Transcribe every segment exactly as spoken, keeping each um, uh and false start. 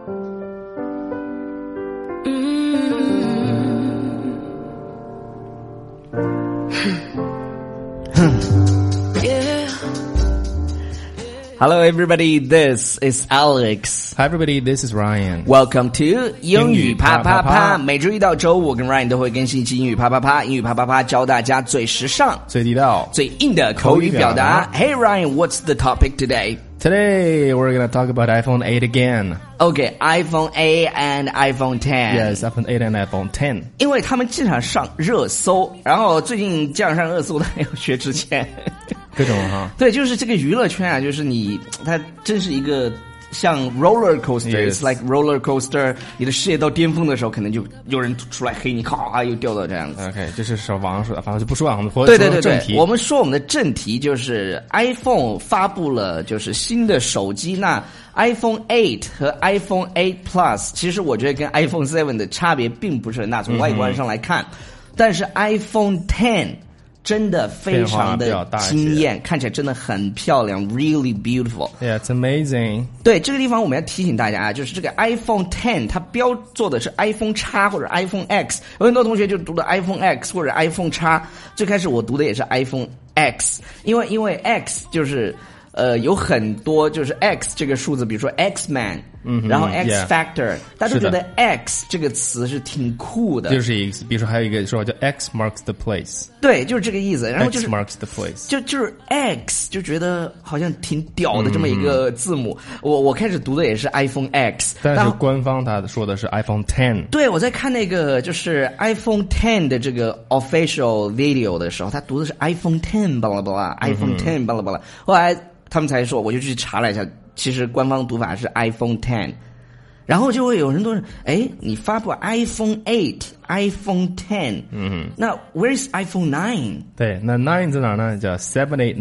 Hello everybody, this is Alex. Hi everybody, this is Ryan. Welcome to 英语啪啪啪。 英语啪啪啪每周一到周五，我跟 Ryan 都会更新一期英语啪啪啪。英语啪啪啪教大家最时尚、 最地道、 最硬的口语表达。Hey Ryan, what's the topic today? Today we're gonna talk about iPhone eight again. Okay, iPhone eight and iPhone ten. Yes, iPhone eight and iPhone ten. 因为他们经常上热搜，然后最近这样上热搜的还有薛之谦。 各种哈， 对，就是这个娱乐圈啊，就是你，它真是一个像 roller coaster，it's、yes. like roller coaster。你的事业到巅峰的时候，可能就有人出来黑你，咔又掉到这样子。 OK， 这是说网上说的，反正就不说啊，我们说对对对对， 正题。 我们说我们的正题就是 iPhone 发布了就是新的手机，那 iPhone eight 和 iPhone eight Plus， 其实我觉得跟 iPhone seven 的差别并不是很大，从外观上来看，嗯、但是 iPhone ten。真的非常的惊艳，看起来真的很漂亮 ，really beautiful. Yeah, it's amazing. 对，这个地方我们要提醒大家啊，就是这个 iPhone ten 它标做的是 iPhone X 或者 iPhone X， 有很多同学就读的 iPhone X 或者 iPhone X， 最开始我读的也是 iPhone X， 因为因为 X 就是呃有很多就是 X 这个数字，比如说 X-Man。嗯，然后 X Factor，、yeah, 大家都觉得 X 这个词是挺酷的， 就是一个，比如说还有一个说法叫 X marks the place， 对，就是这个意思。然后就是 X marks the place， 就就是 X 就觉得好像挺屌的这么一个字母。嗯、我我开始读的也是 iPhone X， 但是官方他说的是 iPhone ten。 对，我在看那个就是 iPhone ten 的这个 official video 的时候，他读的是 iPhone ten 巴拉巴拉 ，iPhone ten 巴拉巴拉。后来他们才说，我就去查了一下。其实官方读法是 iPhone ten， 然后就会有人都是，哎，你发布 iPhone eight、iPhone ten， 嗯，那 Where is iPhone nine？ 对，那 nine 在哪呢？叫 seven eight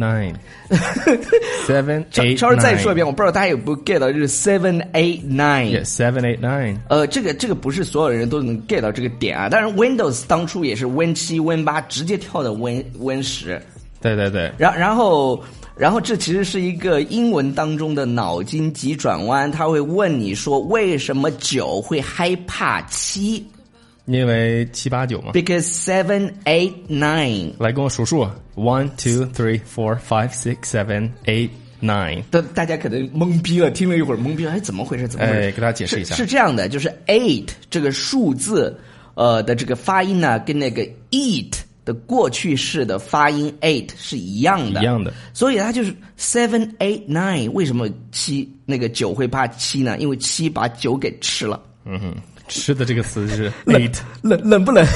nine，seven eight nine。 稍微再说一遍，我不知道大家有没有 get 到，就是 seven eight nine。Yeah, seven eight nine。 呃，这个这个不是所有人都能 get 到这个点啊。当然 ，Windows 当初也是 Win 七、Win 八直接跳到 Win Win 十。 对对对。 然然后。然后这其实是一个英文当中的脑筋急转弯，他会问你说为什么九会害怕七？ 因为七八九嘛。 Because seven eight nine。 来跟我数数 ，one two three four five six seven eight nine。 大大家可能懵逼了，听了一会儿懵逼了，哎，怎么回事？怎么回事？ 哎，给大家解释一下。 是, 是这样的，就是 eight 这个数字，呃的这个发音呢，跟那个 eat。的过去式的发音 eight 是一样的， 一样的，所以它就是 seven eight nine。为什么七那个九会怕七呢？因为七把九给吃了。 嗯哼，吃的这个词是 eight， 冷冷不冷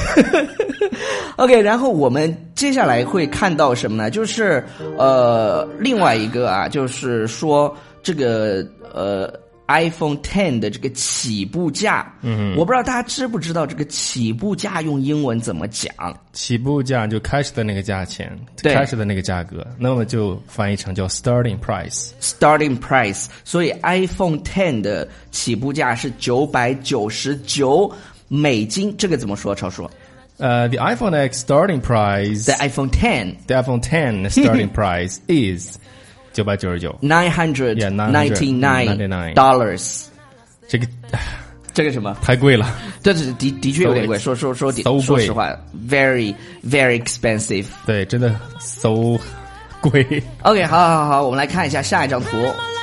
？OK， 然后我们接下来会看到什么呢？就是呃，另外一个啊，就是说这个呃。iPhone ten 的这个起步价，嗯，我不知道大家知不知道这个起步价用英文怎么讲？ 起步价就开始的那个价钱，开始的那个价格，那么就翻译成叫 starting price。starting price， 所以 iPhone ten 的起步价是九百九十九美金，这个怎么说？超叔？ 呃、uh, ，the iPhone X starting price，the iPhone ten，the iPhone ten starting price is。九百九十九 ，nine hundred ninety nine dollars， 这个这个什么太贵了， 这是的的确有点贵，说说说说说实话 ，very very expensive， 对，真的 so 贵。 OK， 好好好，我们来看一下下一张图。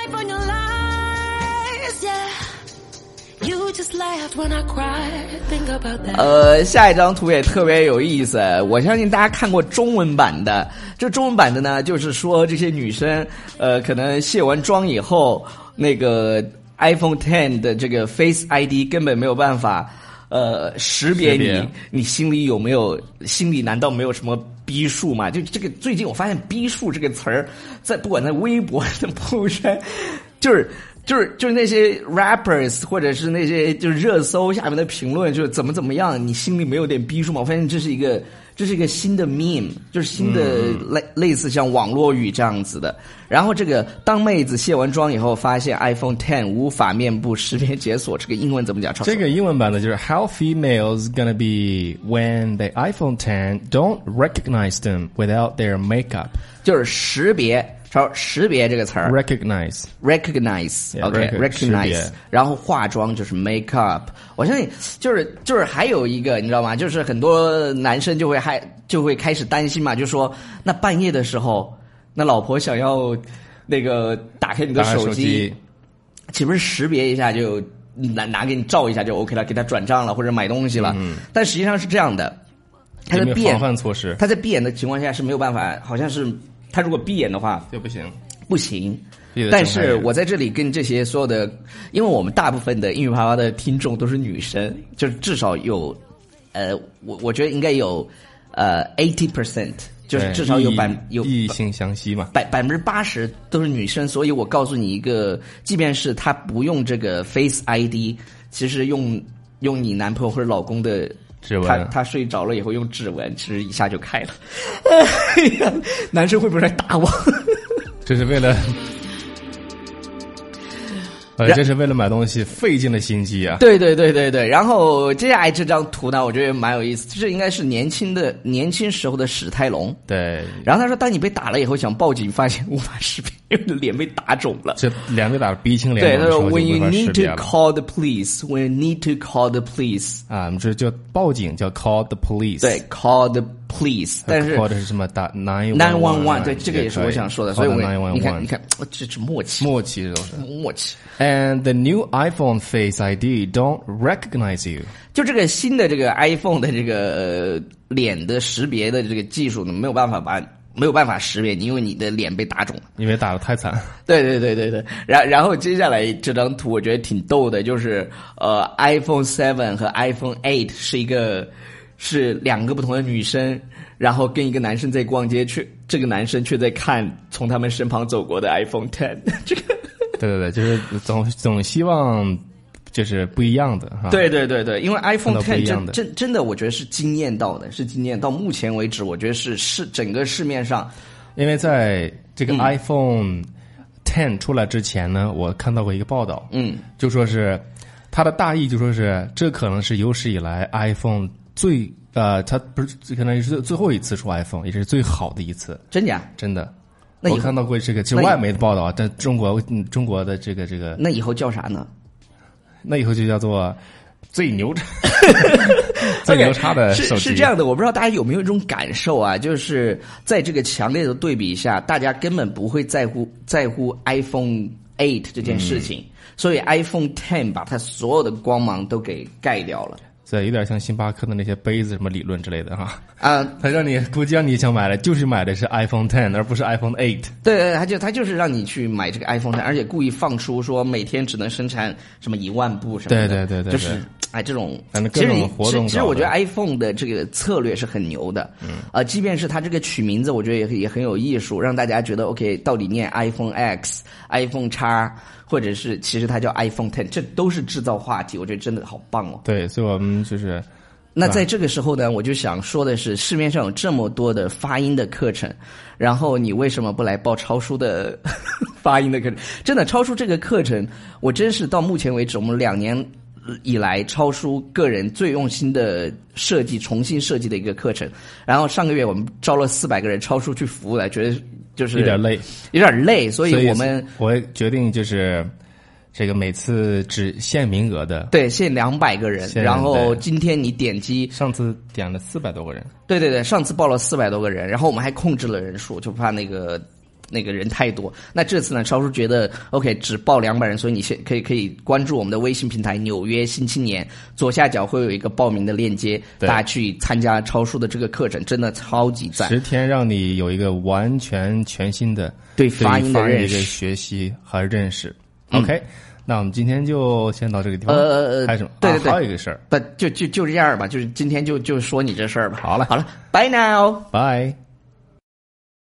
呃，下一张图也特别有意思，我相信大家看过中文版的。这中文版的呢，就是说这些女生，呃，可能卸完妆以后，那个 iPhone ten 的这个 Face I D 根本没有办法，呃，识别你，你心里有没有，心里难道没有什么逼数吗？就这个，最近我发现逼数这个词儿，在不管在微博的朋友圈，就是。就是就是那些 rappers 或者是那些就是热搜下面的评论，就是怎么怎么样，你心里没有点逼数吗？我发现这是一个这是一个新的 meme， 就是新的类、嗯、类似像网络语这样子的。然后这个当妹子卸完妆以后，发现 iPhone ten 无法面部识别解锁，这个英文怎么讲？ 这个英文版的就是 How females gonna be when the iPhone ten don't recognize them without their makeup， 就是识别。 说识别这个词儿 recognize recognize yeah, OK recognize recognize 然后化妆就是 make up 我相信就是就是还有一个你知道吗就是很多男生就会还就会开始担心嘛就说那半夜的时候那老婆想要那个打开你的手机岂不是识别一下就拿拿给你照一下就 OK 了给他转账了或者买东西了、嗯、但实际上是这样的他在闭眼防范措施他在闭眼的情况下是没有办法好像是他如果闭眼的话就不行不行但是我在这里跟这些所有的因为我们大部分的英语啪啪的听众都是女生就是至少有呃我我觉得应该有呃 eighty percent 就是至少有百有异性相吸嘛百百分之八十都是女生所以我告诉你一个即便是他不用这个 Face I D 其实用用你男朋友或者老公的指纹， 他他睡着了以后用指纹，其实一下就开了。哎呀，男生会不会来打我？ 这是为了，呃，这是为了买东西费尽了心机啊！ 对对对对对。然后接下来这张图呢，我觉得蛮有意思，这应该是年轻的年轻时候的史泰龙。 对。 然后他说，当你被打了以后，想报警，发现无法识别，因为脸被打肿了。 这脸被打得鼻青脸肿。 对，他说 ，When you need to call the police, when you need to call the police， 啊，我们这叫报警，叫 call the police。 对 ，call the police， 但是 call 的是什么？打 nine nine one one， 对，这个也是我想说的。所以我你看，你看，这是默契， 默契都是默契。 And the new iPhone Face I D don't recognize you。 就这个新的这个 iPhone 的这个、呃、脸的识别的这个技术呢，没有办法把没有办法识别你，因为你的脸被打肿了， 因为打得太惨。 对对对对对。然然后接下来这张图我觉得挺逗的，就是呃 iPhone seven 和 iPhone eight 是一个是两个不同的女生，然后跟一个男生在逛街，却这个男生却在看从他们身旁走过的 iPhone ten。这个。 对对对，就是总总希望就是不一样的哈。 对对对对，因为 iPhone ten 真真真的，我觉得是惊艳到的，是惊艳到目前为止，我觉得是是整个市面上， 因为在这个 iPhone ten 出来之前呢，嗯、我看到过一个报道， 嗯， 就说是它的大意就说是这可能是有史以来 iPhone 最呃，它不是可能是最后一次出 iPhone， 也是最好的一次， 真假？ 真的。我看到过这个，就是外媒的报道，但中国中国的这个这个， 那以后叫啥呢？ 那以后就叫做最牛叉、最牛叉的手机。 是是这样的，我不知道大家有没有一种感受啊，就是在这个强烈的对比下，大家根本不会在乎在乎 iPhone eight 这件事情，嗯、所以 iPhone ten 把它所有的光芒都给盖掉了。 对，有点像星巴克的那些杯子什么理论之类的哈。 啊， 他让你估计让你想买的就是买的是 iPhone ten， 而不是 iPhone eight。 对对，他就他就是让你去买这个 iPhone ten， 而且故意放出说每天只能生产什么一万部什么的。 对对对对， 就是哎这种， 其实活动其实我觉得 iPhone 的这个策略是很牛的。嗯。呃，即便是它这个取名字，我觉得也也很有艺术，让大家觉得 OK， 到底念 iPhone X、iPhone X。或者是其实它叫 iPhone ten， 这都是制造话题，我觉得真的好棒哦。 对，所以我们就是那在这个时候呢，我就想说的是，市面上有这么多的发音的课程，然后你为什么不来报超叔的发音的课程？真的，超叔这个课程，我真是到目前为止，我们两年以来，超叔个人最用心的设计、重新设计的一个课程。然后上个月我们招了四百个人，超叔去服务来，觉得就是有点累， 有点累，所以我们我决定就是这个每次只限名额的， 对，限两百个人。然后今天你点击， 上次点了四百多个人， 对对对，上次报了四百多个人，然后我们还控制了人数，就怕那个。那个人太多，那这次呢，超叔觉得 OK， 只报两百人，所以你先可以可以关注我们的微信平台《纽约新青年》，左下角会有一个报名的链接，大家去参加超叔的这个课程，真的超级赞。 十天让你有一个完全全新的对发音的认识、 一个学习和认识。嗯、OK， 那我们今天就先到这个地方。 呃， 还有什么？ 对对对， 还有一个事儿， 不就就就这样吧，就是今天就就说你这事儿吧。 好了好了 ，Bye now， Bye。